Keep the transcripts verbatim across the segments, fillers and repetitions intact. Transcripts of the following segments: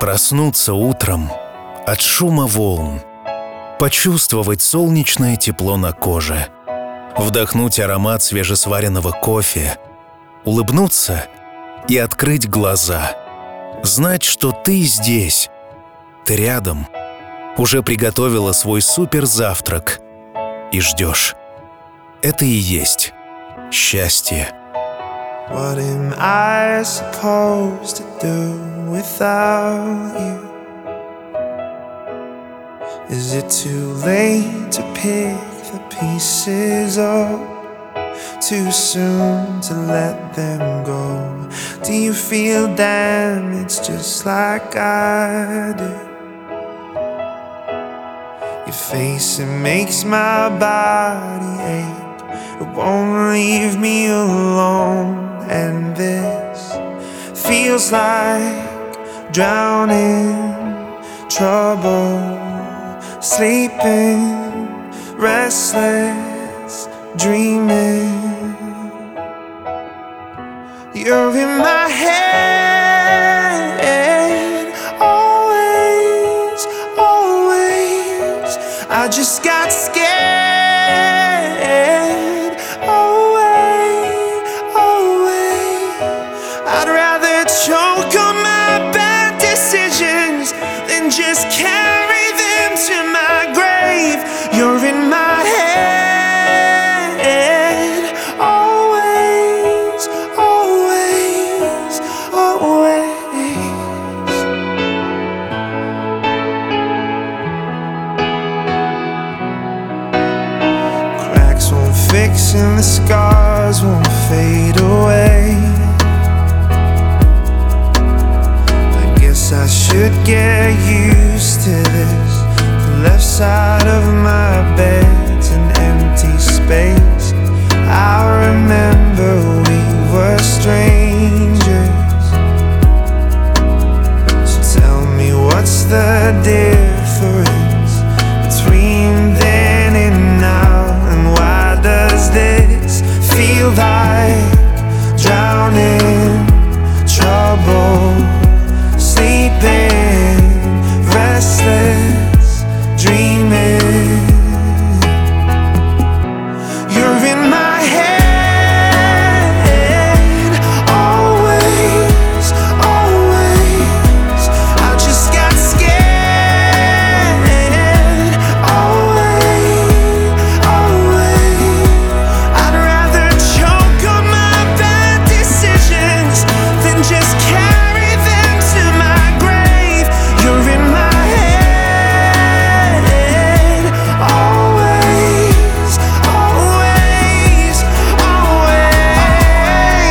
Проснуться утром от шума волн, почувствовать солнечное тепло на коже, вдохнуть аромат свежесваренного кофе, улыбнуться и открыть глаза. Знать, что ты здесь, ты рядом, уже приготовила свой суперзавтрак и ждешь. Это и есть счастье. What am I supposed to do without you? Is it too late to pick the pieces up? Too soon to let them go? Do you feel damaged just like I do? Your face, it makes my body ache. It won't leave me alone. And this feels like drowning, trouble, sleeping, restless, dreaming. You're in my head, always, always. I just got scared. I'd rather choke on my bad decisions than just carry them to my grave. You're in my head, always, always, always. Cracks won't fix and the scars won't fade away. I should get used to this. The left side of my bed's an empty space. I remember we were strangers. So tell me, what's the difference between then and now? And why does this feel like drowning, trouble, sleeping, restless, dreaming? You're in my head, always, always. I just got scared, always, always. I'd rather choke on my bad decisions than just carry them to my grave. You're in my head, always, always, always,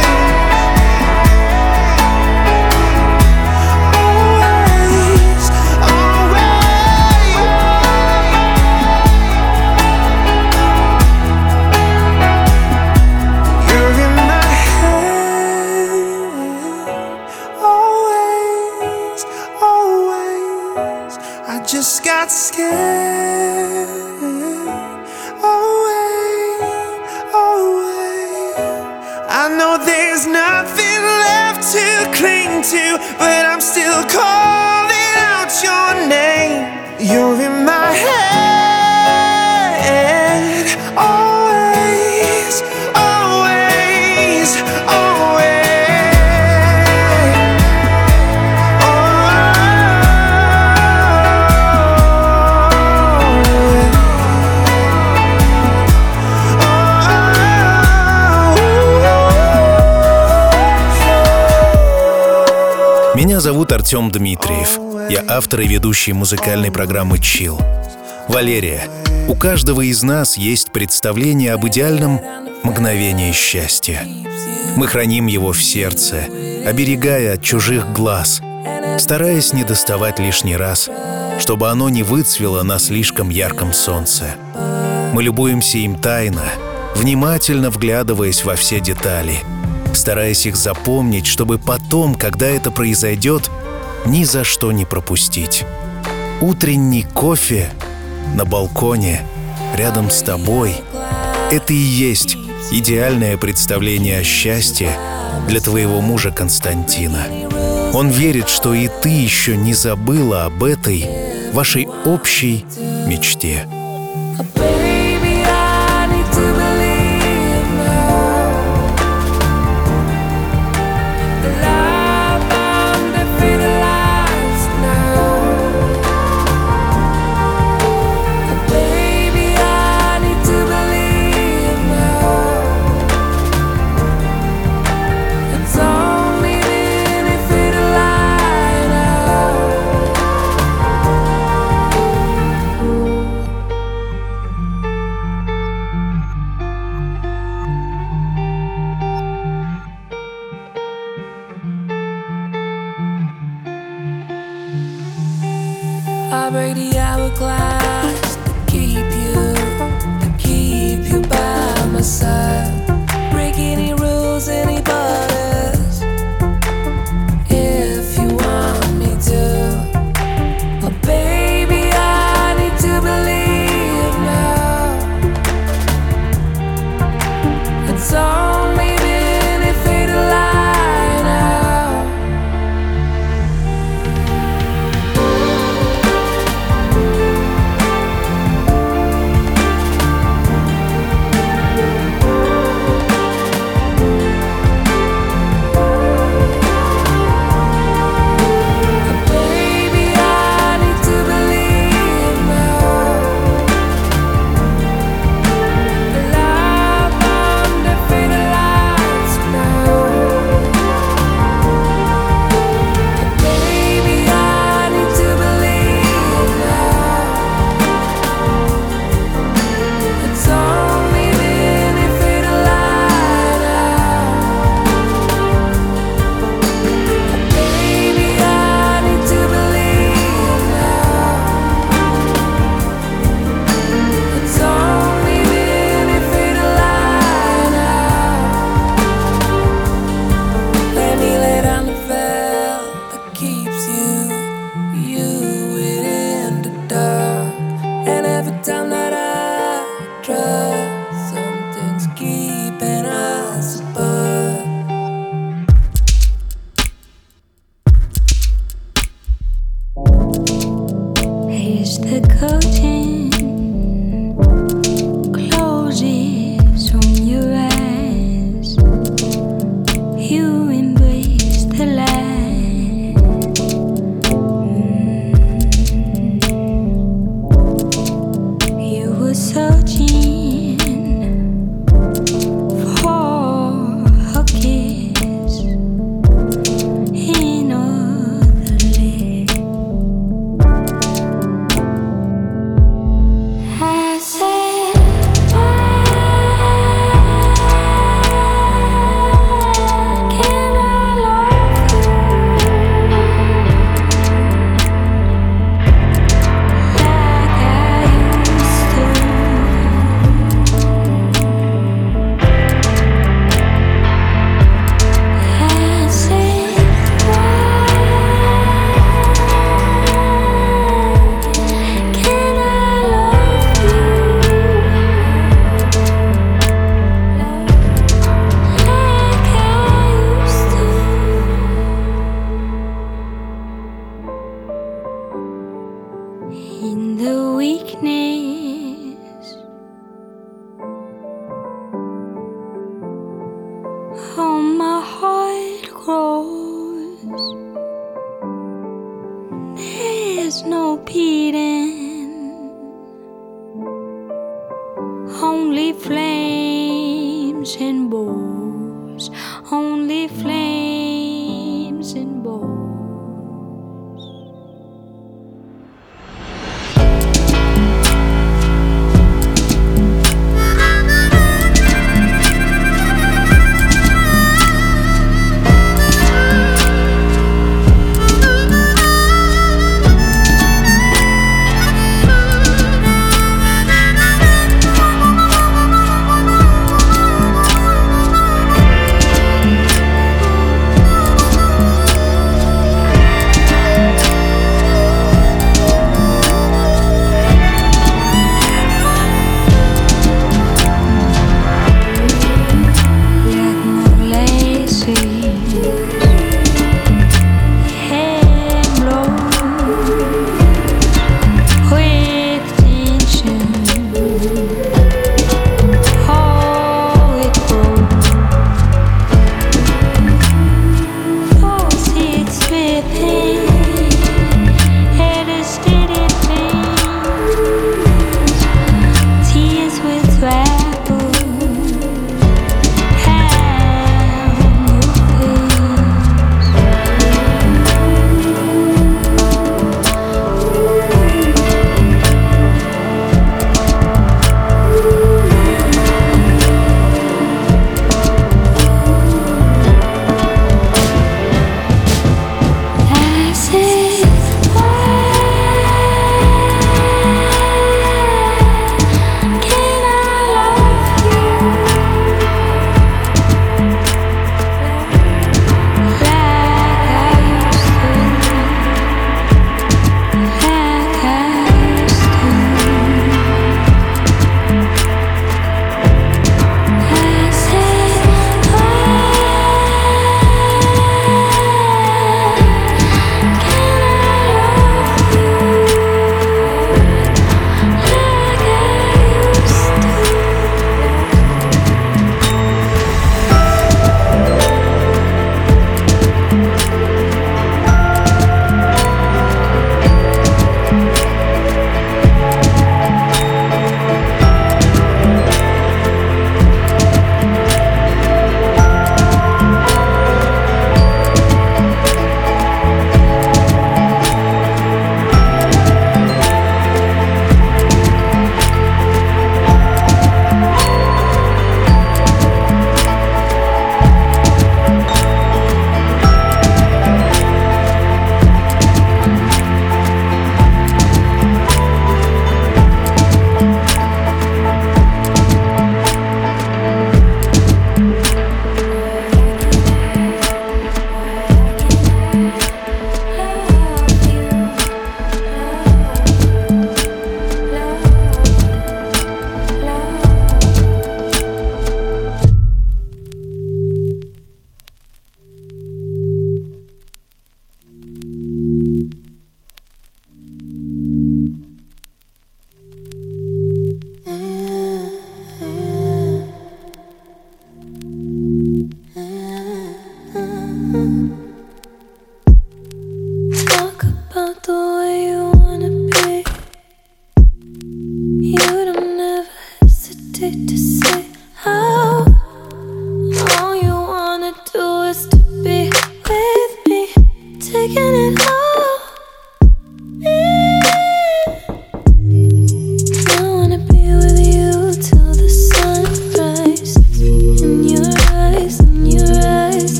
always, always. You're in my head, always, always. I just got scared. Always, always. I know there's nothing left to cling to, but I'm still calling out your name. You're in my head, always, always, always. Меня зовут Артем Дмитриев. Я автор и ведущий музыкальной программы «Чилл». Валерия, у каждого из нас есть представление об идеальном мгновении счастья. Мы храним его в сердце, оберегая от чужих глаз, стараясь не доставать лишний раз, чтобы оно не выцвело на слишком ярком солнце. Мы любуемся им тайно, внимательно вглядываясь во все детали, стараясь их запомнить, чтобы потом, когда это произойдет, ни за что не пропустить. Утренний кофе на балконе рядом с тобой — это и есть идеальное представление о счастье для твоего мужа Константина. Он верит, что и ты еще не забыла об этой вашей общей мечте. I break the hourglass to keep you, to keep you by my side. Break any rules, any borders, if you want me to. Oh baby, I need to believe now. It's only been a fatal lie now.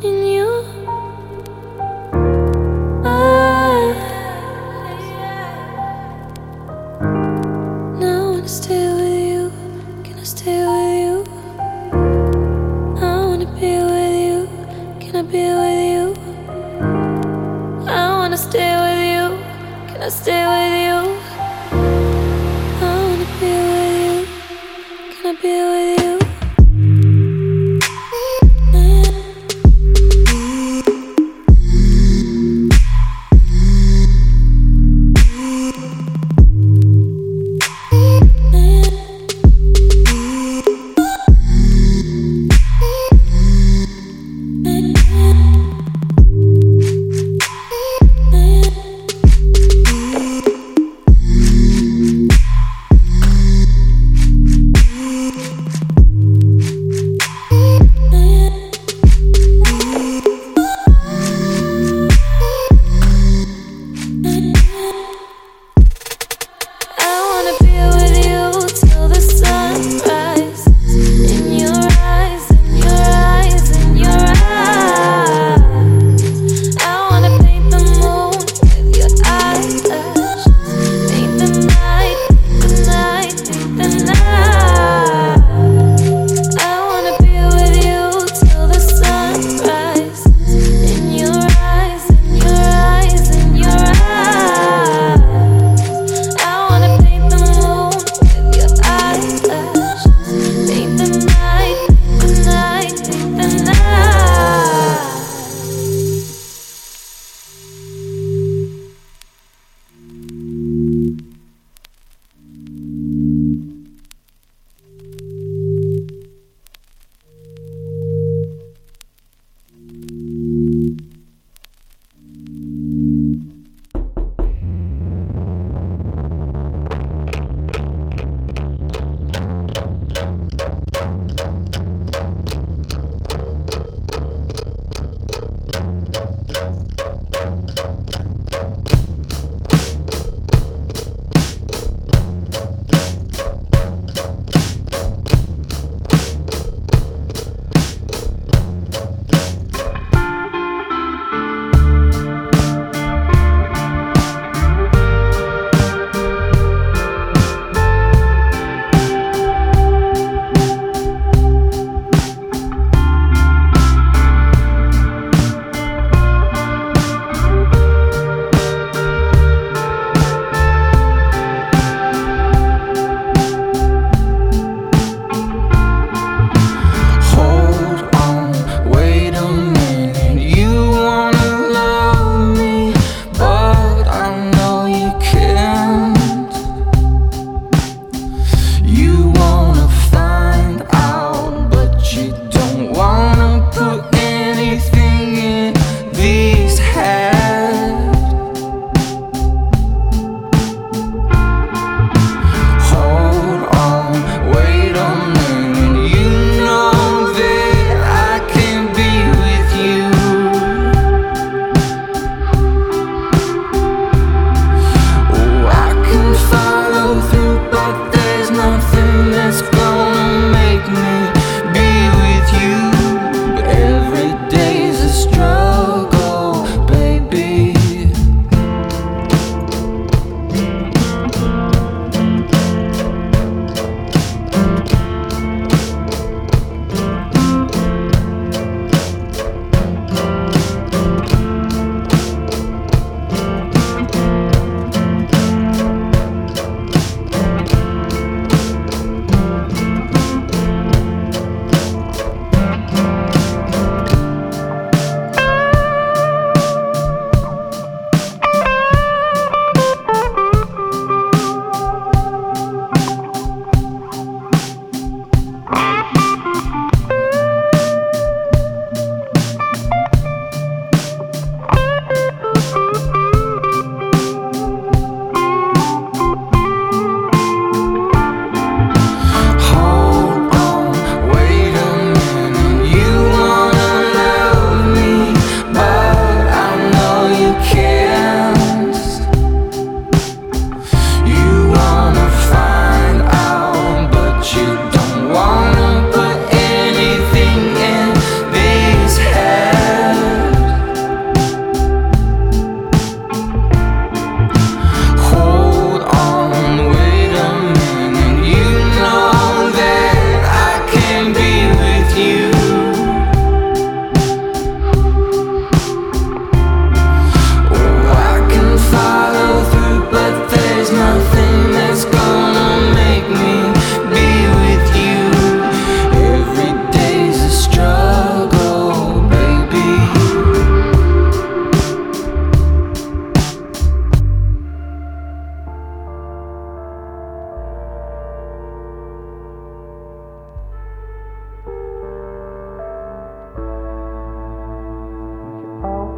in you. I now wanna stay with you. Can I stay with you? I wanna be with you. Can I be with you? I wanna stay with you. Can I stay with you? I wanna be with you. Can I be with you?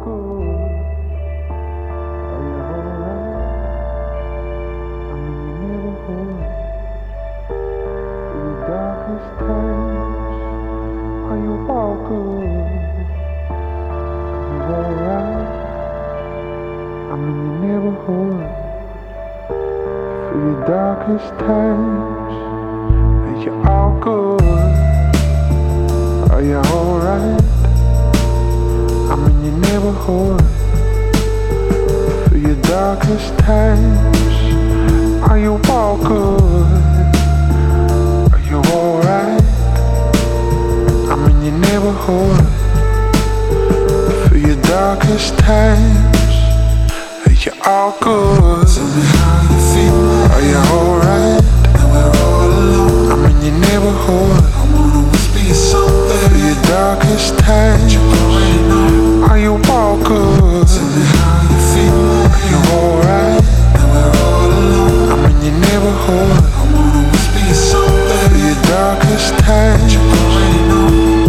Darkest times, are you all good? Are you alright? I'm in your neighborhood. For your darkest times, are you all good? Are you alright? I'm in your neighborhood. For your darkest times, are you all good? Tell me how you feel. Are you alright? And we're all alone. I'm in your neighborhood. I wanna whisper you something. For your darkest times, you already know. Are you all good? Tell me how you feel. Are you alright? And we're all alone. I'm in your neighborhood. I wanna whisper you something. For your darkest times, you already know.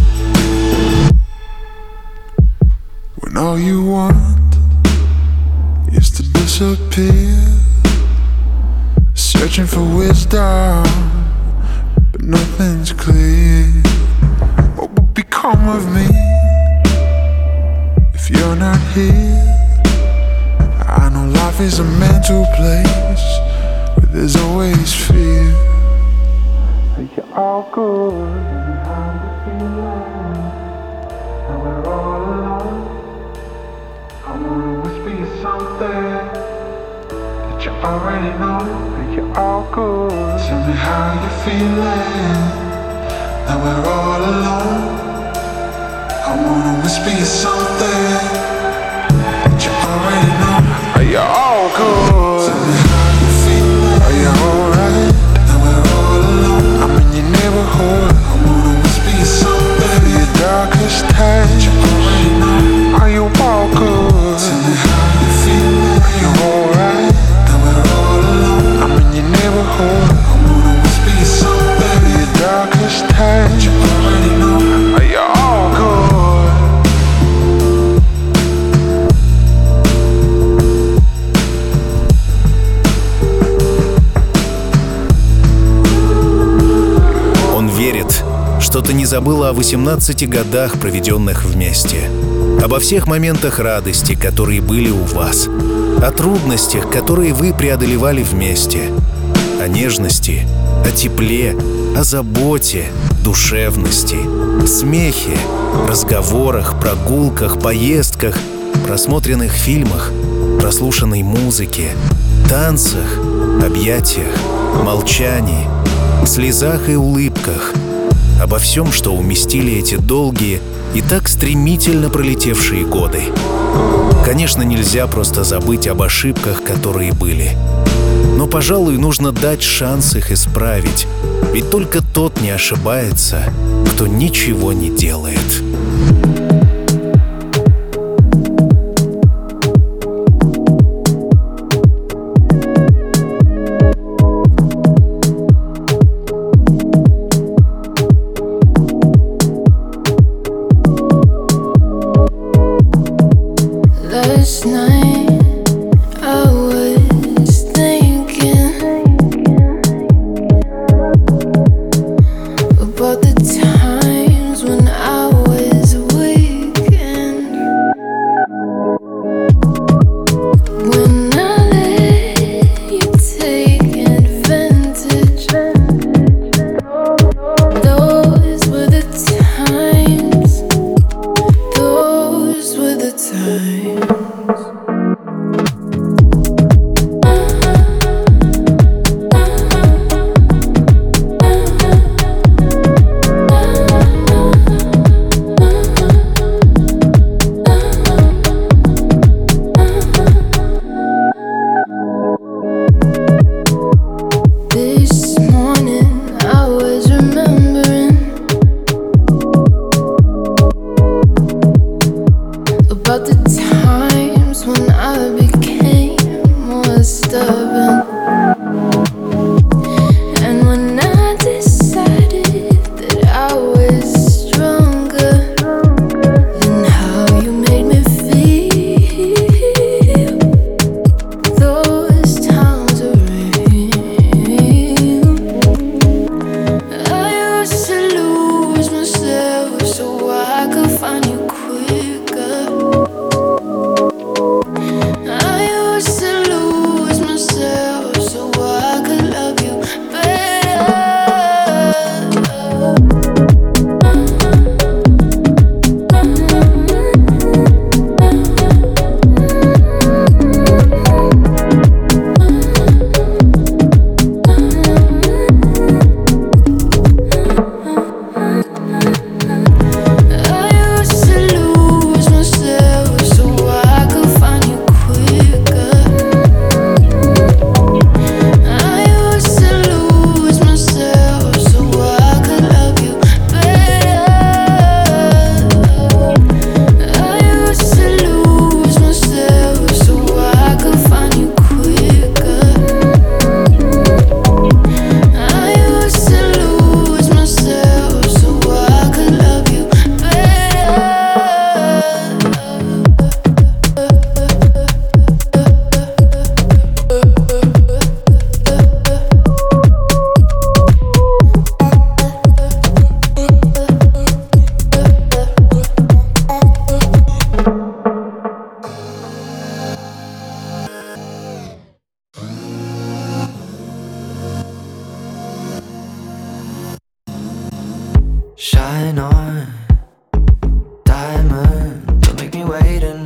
When all you want is to disappear, searching for wisdom, but nothing's clear. What will become of me if you're not here? I know life is a mental place where there's always fear. Are you all good? How you feeling? And we're all alone. I wanna whisper you something that you already know. Are you all good? Tell me how you feeling. That we're all alone. I wanna whisper you something that you already know. Are you all good? Tell me how you feeling. Are you alright? That we're all alone. I'm in your neighborhood. I wanna whisper you something. For your darkest times, that you already know. Are you all good? Tell me how you feeling. Are you alright? That we're all alone. I'm in your neighborhood. I wanna whisper you something. For your darkest times, that you already know. Are you all good? Он верит, что ты не забыла о восемнадцати годах, проведенных вместе, обо всех моментах радости, которые были у вас, о трудностях, которые вы преодолевали вместе, о нежности, о тепле, о заботе, душевности, смехе, разговорах, прогулках, поездках, просмотренных фильмах, прослушанной музыке, танцах, объятиях, молчании, слезах и улыбках, обо всем, что уместили эти долгие и так стремительно пролетевшие годы. Конечно, нельзя просто забыть об ошибках, которые были. Но, пожалуй, нужно дать шанс их исправить. Ведь только тот не ошибается, кто ничего не делает. Last night I was thinking about the times when I was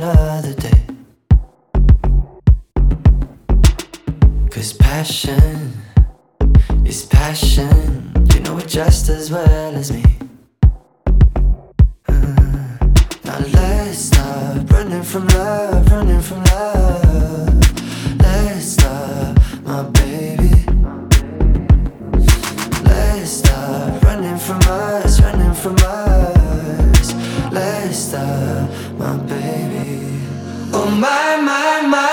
another day. 'Cause passion is passion, you know it just as well as me. Now let's stop running from love, running from love. Let's stop, my baby. Let's stop running from us, running from us. Let's stop, my baby. Oh my, my, my.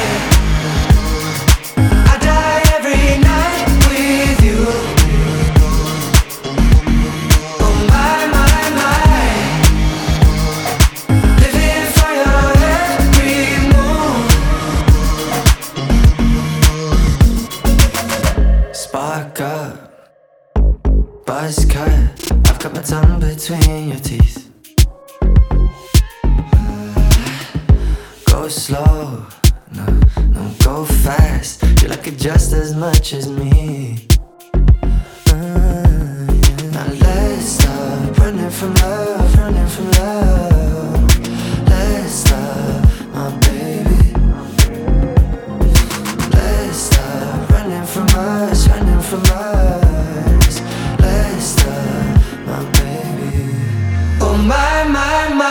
I die every night with you. Oh my, my, my. Living for your every move. Spark up, buzz cut. I've got my tongue between your teeth. Go slow, no, no, go fast. You like it just as much as me. uh, yeah. Now let's stop running from love, running from love. Let's stop, my baby. Let's stop running from us, running from us. Let's stop, my baby. Oh my, my, my.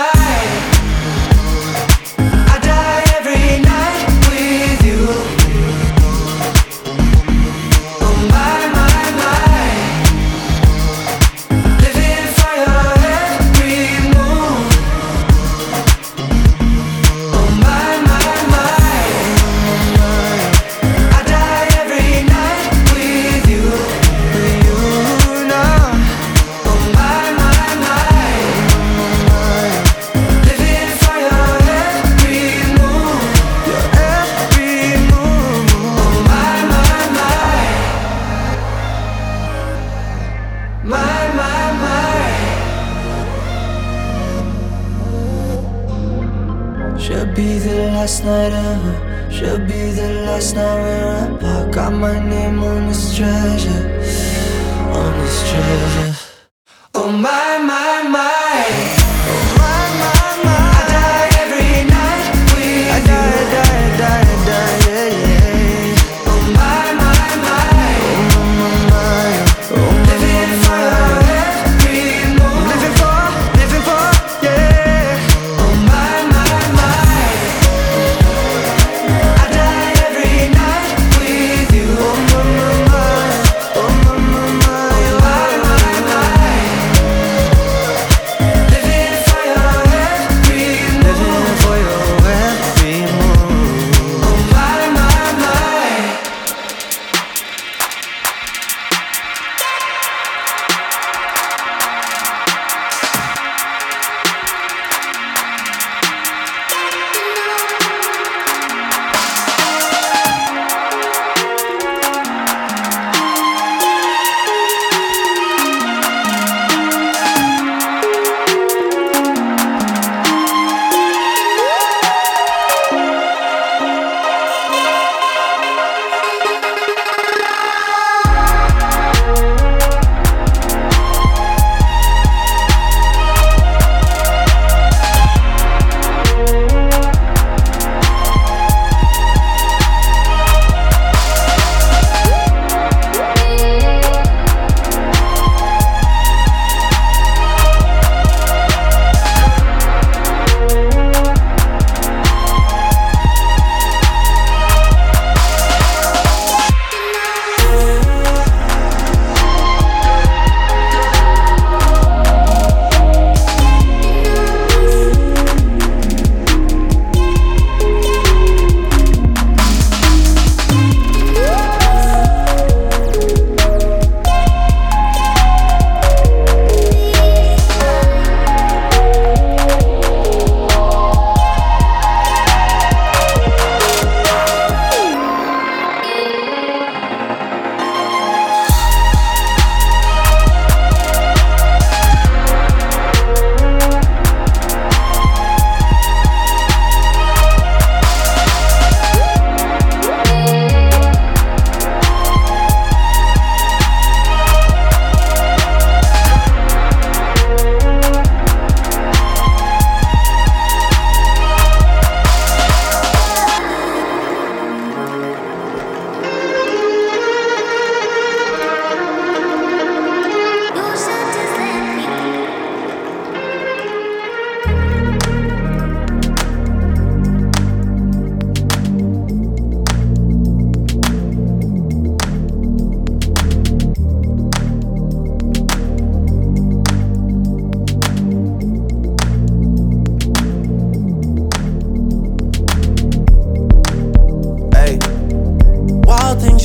Should be the last night ever. Should be the last night we're apart. Got my name on this treasure, on this treasure. Oh my, my, my. Oh my, my, my. I die every night with I die, you. die, die, die, yeah, yeah. Oh my, my, my. Oh my, my, oh my, living for your every move. Living for, living for, yeah. Oh my, my, my. I die every night with you. Oh my, my, my. Oh my, my, my. Oh my, my, my.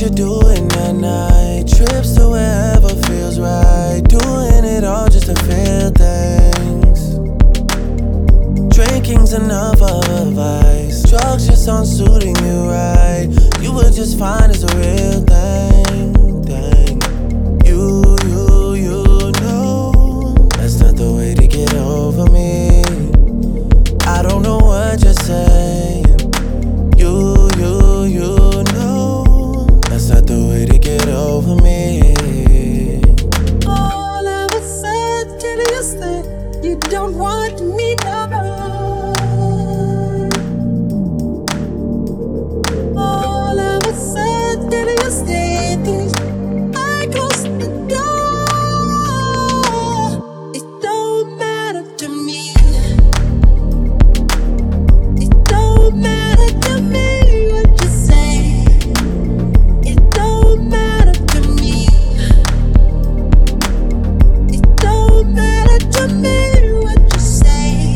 you're doing at night. Trips to wherever feels right. Doing it all just to feel things. Drinking's enough of a vice. Drugs just aren't suiting you right. You were just fine as a real thing, thing. You, you, you know that's not the way to get over me. I don't know what you're saying. You, you, you know that's not the way to get over me. All of a sudden you say you don't want me no more. All of a sudden you say things, I close the door. It don't matter to me. It don't matter to me what you say. It don't matter to me. It don't matter to me what you say.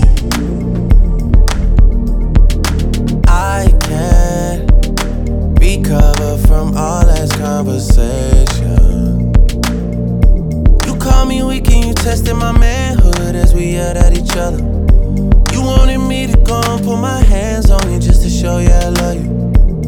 I can't recover from all last conversation. You call me weak and you tested my manhood as we yelled at each other. You wanted me to go and put my hands on you just to show you I love you.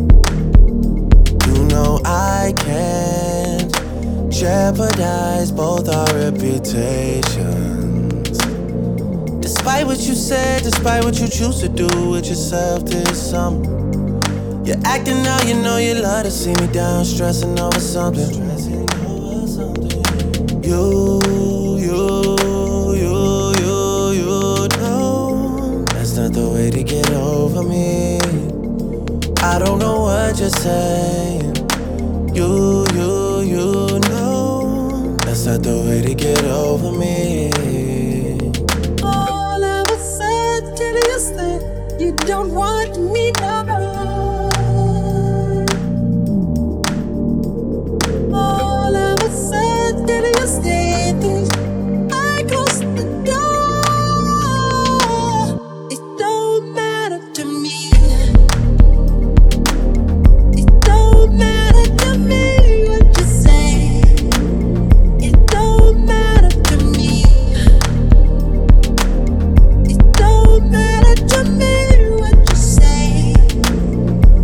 You know I can't jeopardize both our reputations. Despite what you said, despite what you choose to do with yourself this summer, you're acting now, you know you love to see me down, stressing over something. You, you, you, you, you know that's not the way to get over me. I don't know what you're saying. You, you, you know that's not the way to get over me. All of a sudden you say you don't want me no more. All of a sudden you say things, I close the door. It don't matter to me. It don't matter to me what you say. It don't matter to me. It don't matter to me what you say.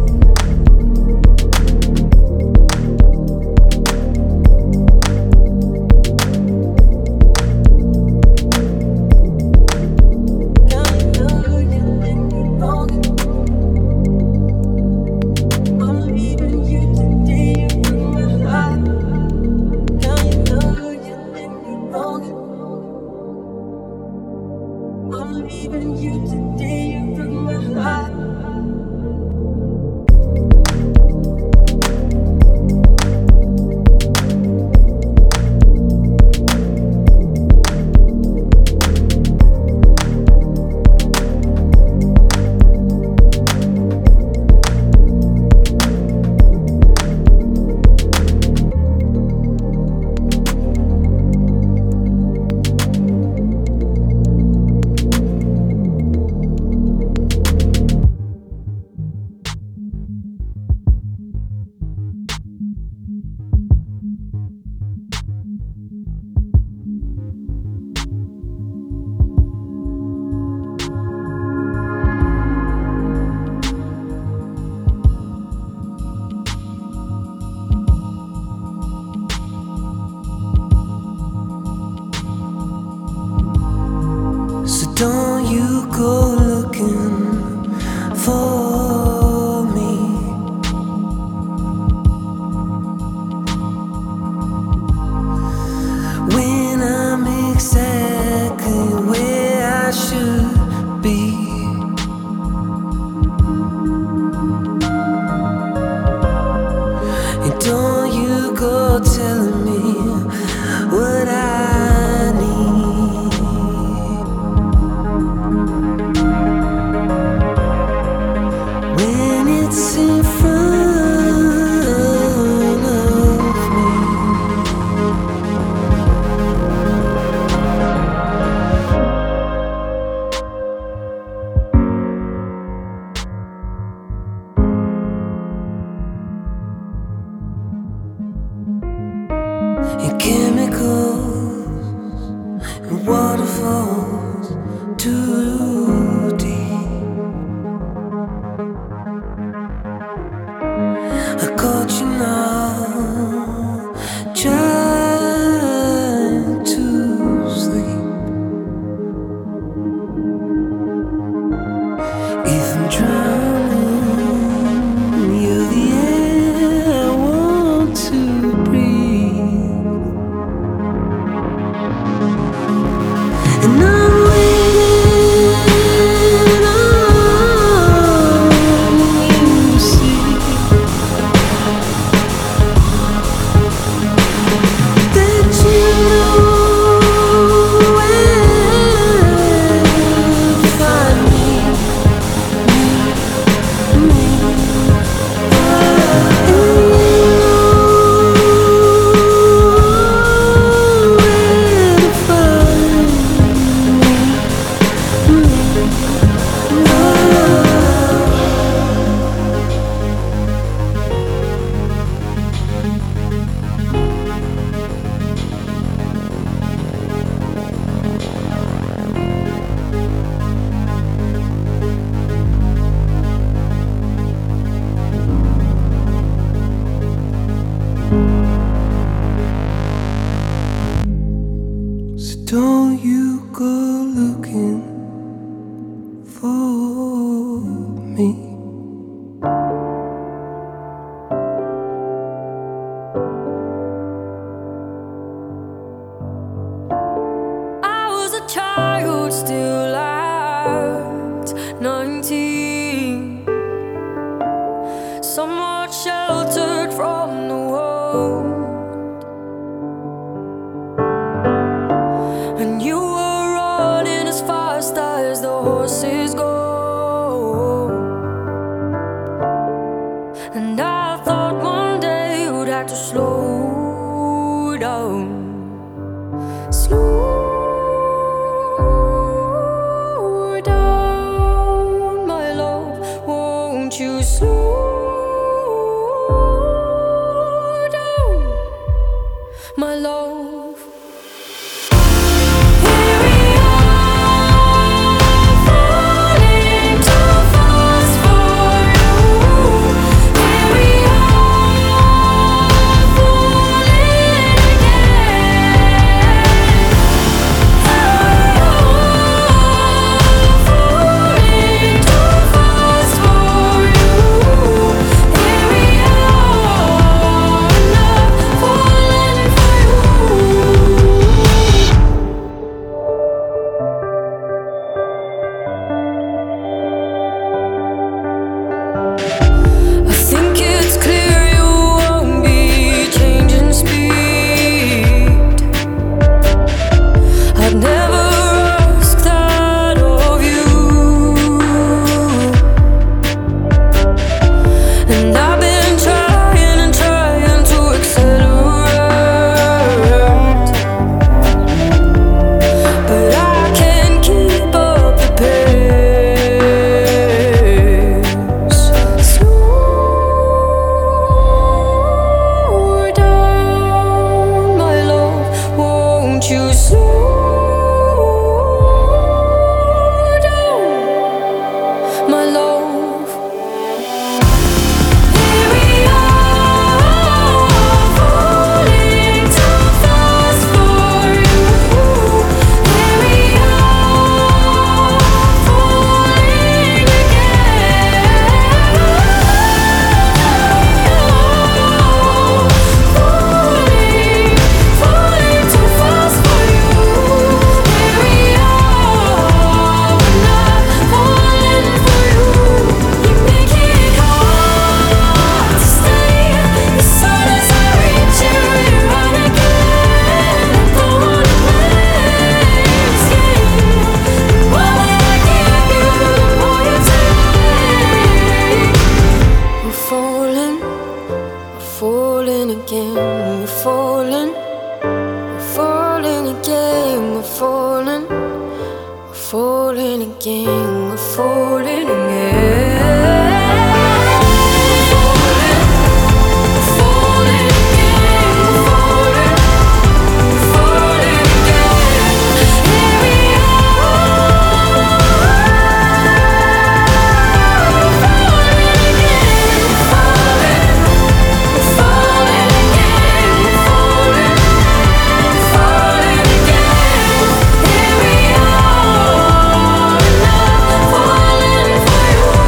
me. Still at nineteen, somewhat sheltered from the world, and you were running as fast as the horses go, and I thought one day you'd have to slow down, slow you slow down, my love. Here we are, falling too fast for you. Here we are, falling again. Here we are, falling too fast for you. You slow down, my love. Here we are, falling too fast for you. Here we are, falling again. Falling, falling too fast for you. Here we are, we're not falling for you. You make it hard to stay. As soon as I reach you, you run again. I don't wanna play this game. The more that I give you, the more you take. We're falling, we're falling again. We're falling, we're falling again. We're falling, we're falling again. We're falling again. We're falling, we're falling again. We're falling, we're falling again. Here we are, falling again. We're falling, we're falling again. We're falling, falling again. Here we are, not falling for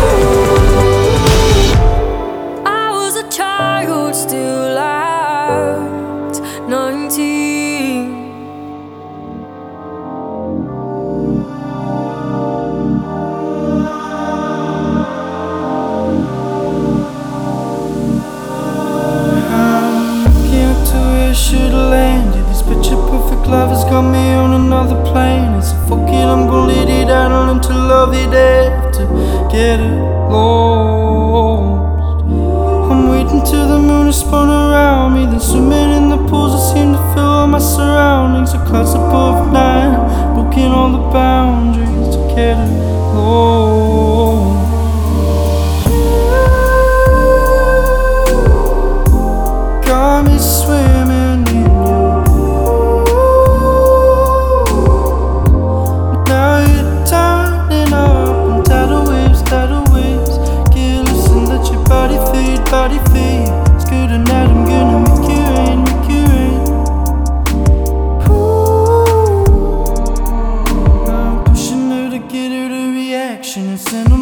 you. I was a child still at nineteen. Looking up to where I should've landed. This picture perfect love has got me on another plane. It's a fuck it, I'm gonna let it out and learn to love it after get it lost. I'm waiting till the moon is spun around me, then swimming in the pools that seem to fill all my surroundings. A clouds above nine, booking all the boundaries to get it lost. Got me swimming in you. Now you're turning up and tidal waves, tidal waves. Get loose and let your body fade, body fade. It's good tonight, I'm gonna make you rain, make you rain. Ooh, I'm pushing her to get her to reaction.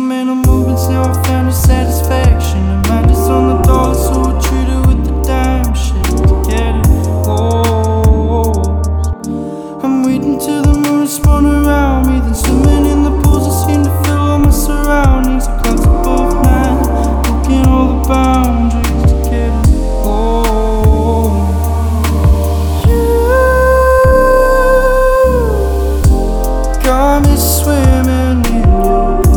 mental movements, now I found a satisfaction. The mind is on the dollar, so I treat it with the dime shit to get it. Oh, I'm waiting till the moon spun around me, then swimming in the pools. I seem to feel all my surroundings. The clouds above nine, looking all the boundaries to get it. Oh, you got me swimming in you.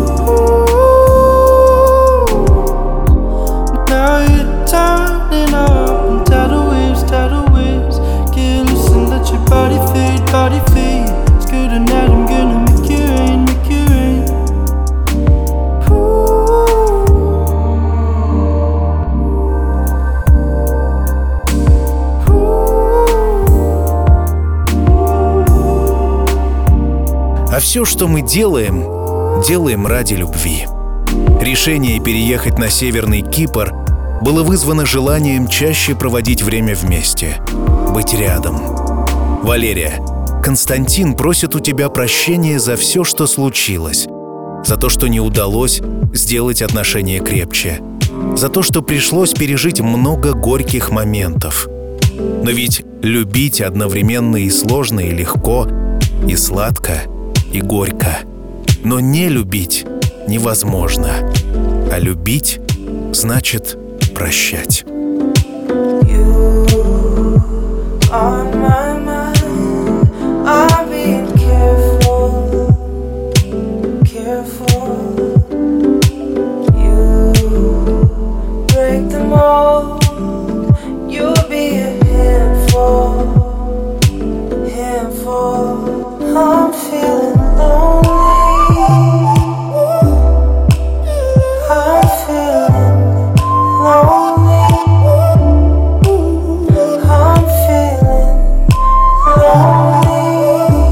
Now you're turning up in tidal waves, tidal waves. Get loose and let your body fade, body fade. It's good tonight, I'm gonna make you rain, make you rain. А все, что мы делаем, делаем ради любви. Решение переехать на Северный Кипр было вызвано желанием чаще проводить время вместе, быть рядом. Валерия, Константин просит у тебя прощения за все, что случилось, за то, что не удалось сделать отношения крепче, за то, что пришлось пережить много горьких моментов. Но ведь любить одновременно и сложно, и легко, и сладко, и горько. Но не любить невозможно. А любить значит прощать. I'm feeling lonely. I'm feeling lonely. I'm feeling lonely.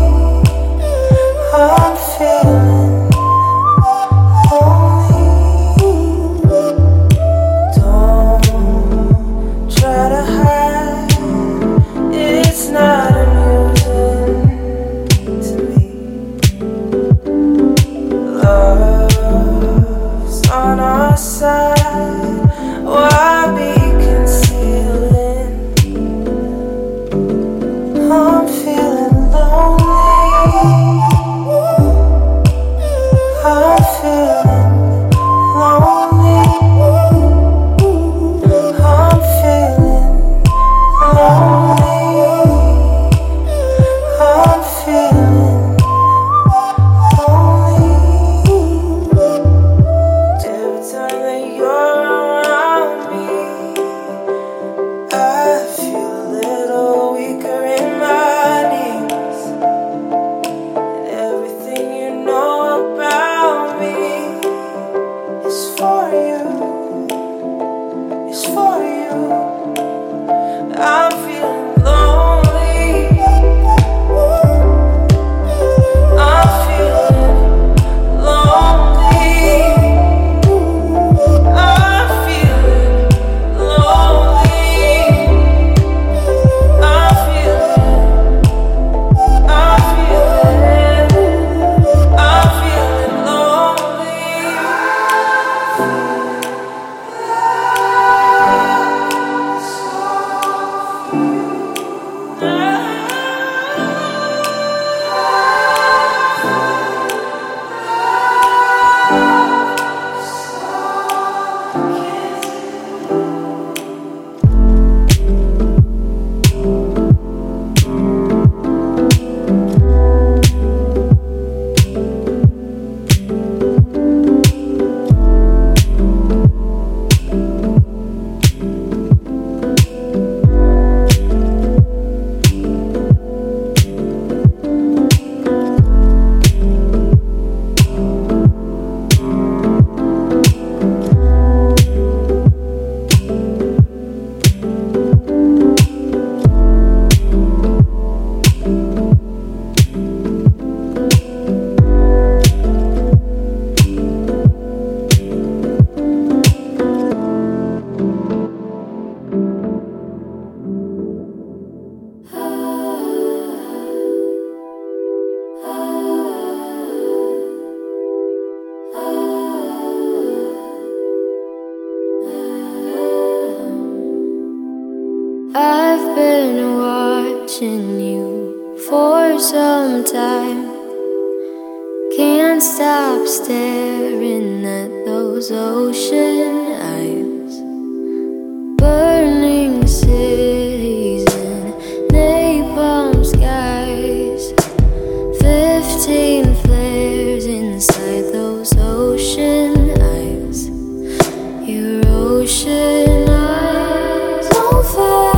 watching you for some time. Can't stop staring at those ocean eyes. Burning cities and napalm skies. Fifteen flares inside those ocean eyes. Your ocean eyes on fire.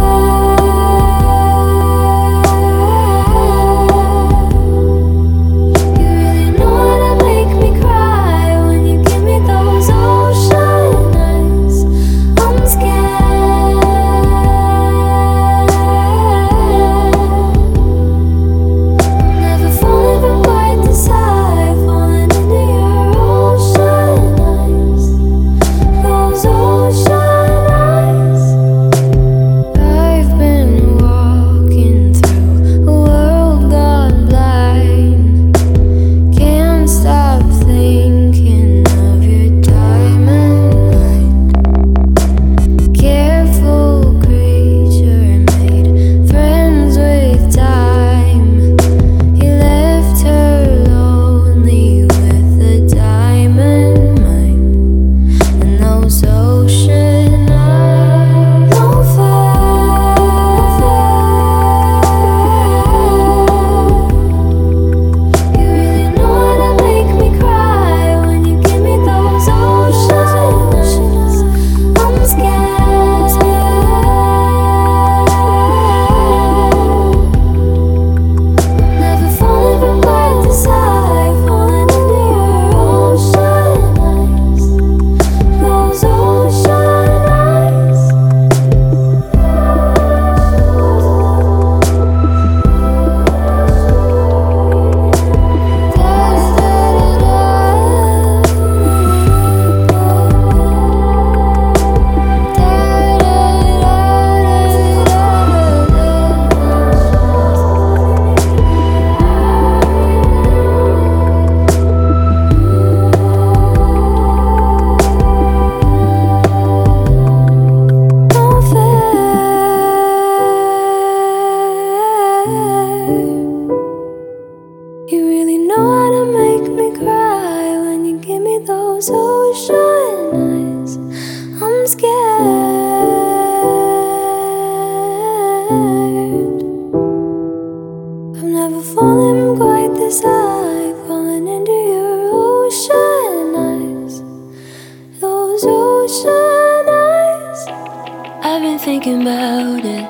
Thinking about it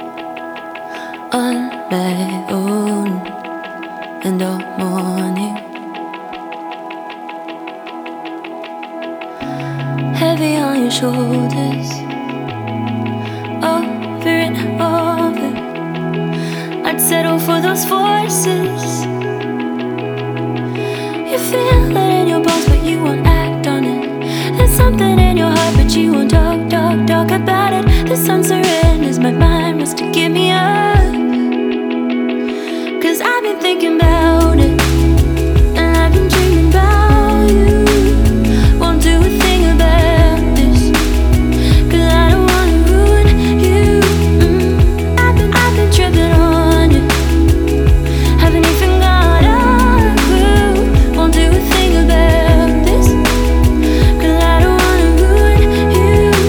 on my own and all morning. Heavy on your shoulders, over and over. I'd settle for those forces. You feel it in your bones, but you won't act on it. There's something in your heart, but you won't talk, talk, talk about it. The sun surrenders, my mind wants to give me up. Cause I've been thinking about it, and I've been dreaming about you. Won't do a thing about this, cause I don't wanna ruin you. mm. I've been, I've been tripping on you. Haven't even got a clue. Won't do a thing about this, cause I don't wanna ruin you.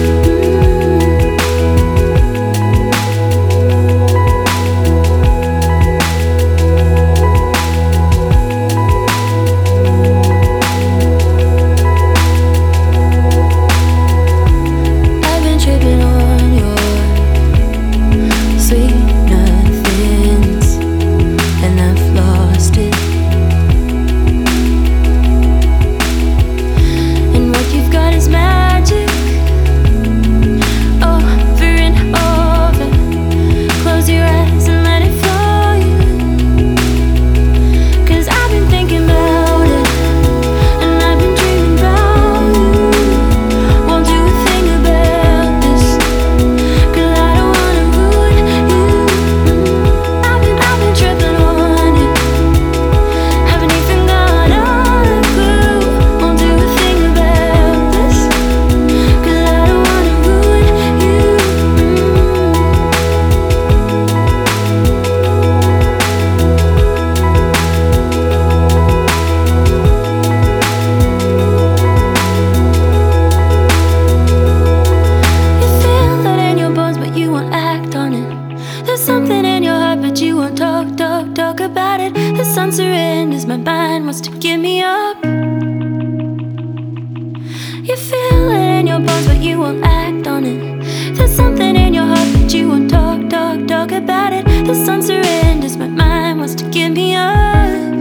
You feel it in your bones, but you won't act on it. There's something in your heart, but you won't talk, talk, talk about it. The sun surrenders, my mind wants to give me up.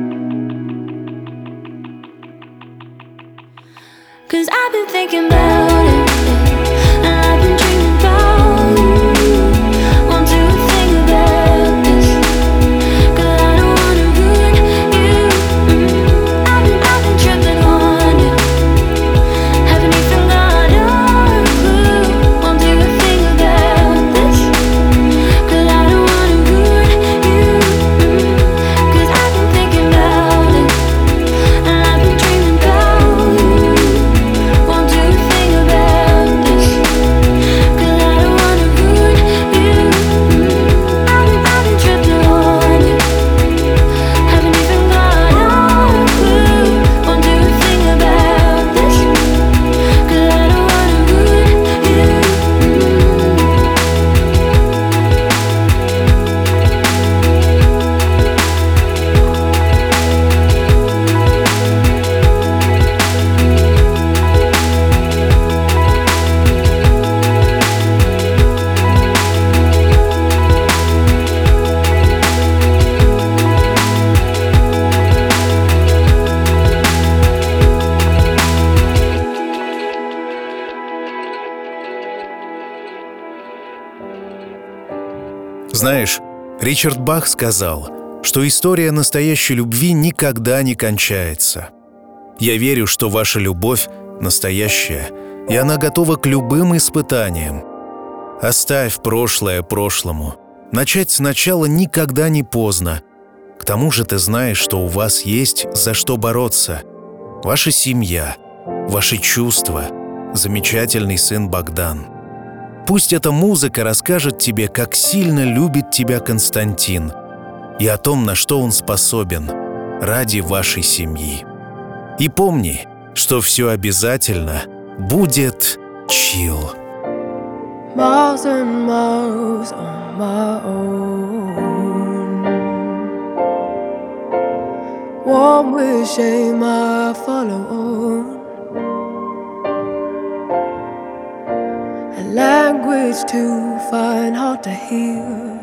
'Cause I've been thinking about it, and I've been dreaming about you. Won't do a thing about this, 'cause I don't wanna ruin you. mm. I've been, I've been tripping on you. Haven't even got a clue. Won't do a thing about this, 'cause I don't wanna ruin you. mm. 'Cause I've been thinking about it, and I've been dreaming about you. Won't do a thing about this, 'cause I don't wanna ruin you. mm. I've been, I've been tripping on you. Haven't even got a clue. Won't do a thing about this, 'cause I don't wanna ruin you. Знаешь, Ричард Бах сказал, что история настоящей любви никогда не кончается. Я верю, что ваша любовь настоящая, и она готова к любым испытаниям. Оставь прошлое прошлому. Начать сначала никогда не поздно. К тому же ты знаешь, что у вас есть за что бороться. Ваша семья, ваши чувства, замечательный сын Богдан. Пусть эта музыка расскажет тебе, как сильно любит тебя Константин, и о том, на что он способен ради вашей семьи. И помни, что все обязательно будет чил. Miles and miles on my own. One with shame I follow on. A language to find hard to hear.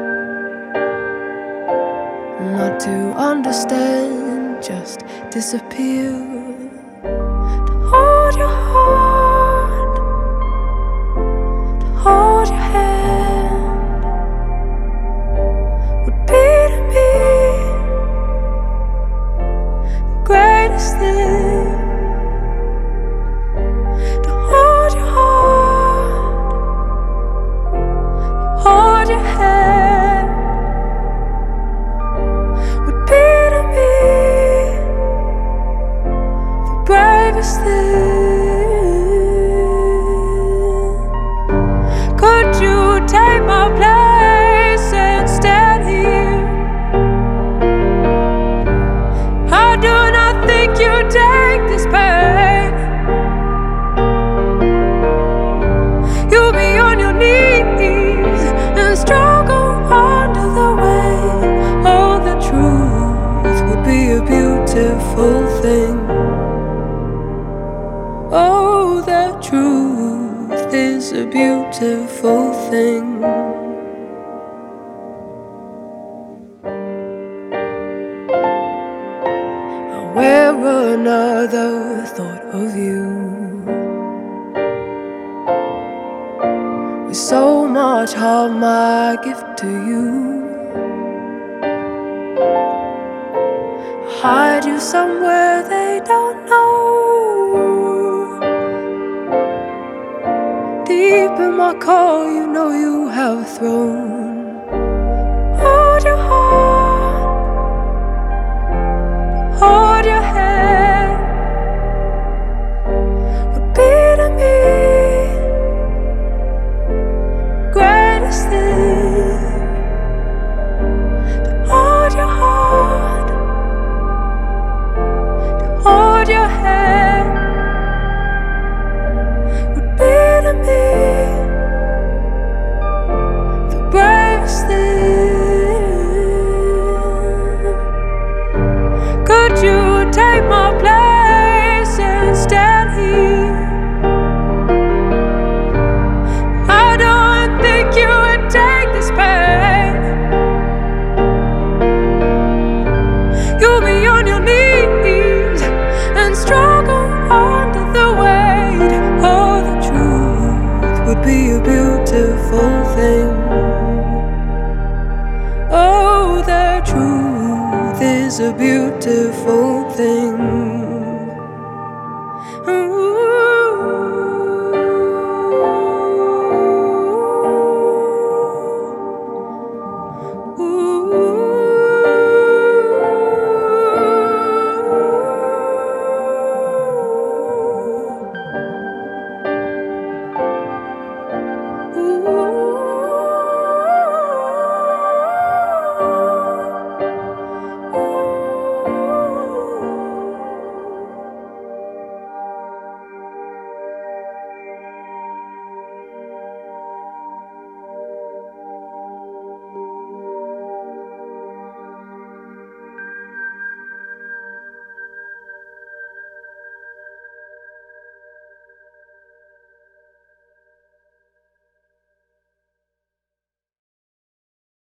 Not to understand, just disappear. To hold your heart, to hold your hand, would be to me the greatest thing. To hold your heart, to hold your hand, would be to me the bravest thing. Could you take my place and stand here? I do not think you take this pain. You'll be on your knees and struggle under the weight. Oh, the truth would be a beautiful thing. Oh, the truth is a beautiful thing. I wear another thought of you. With so much heart, my gift to you. I hide you somewhere they don't know. Deep in my core, you know you have a throne. Hold your heart, hold your hand, would be to me greatest thing. To hold your heart, to hold your hand, would be to me the bravest is a beautiful thing.